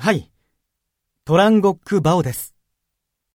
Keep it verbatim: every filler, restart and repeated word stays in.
はい。トランゴック・バオです。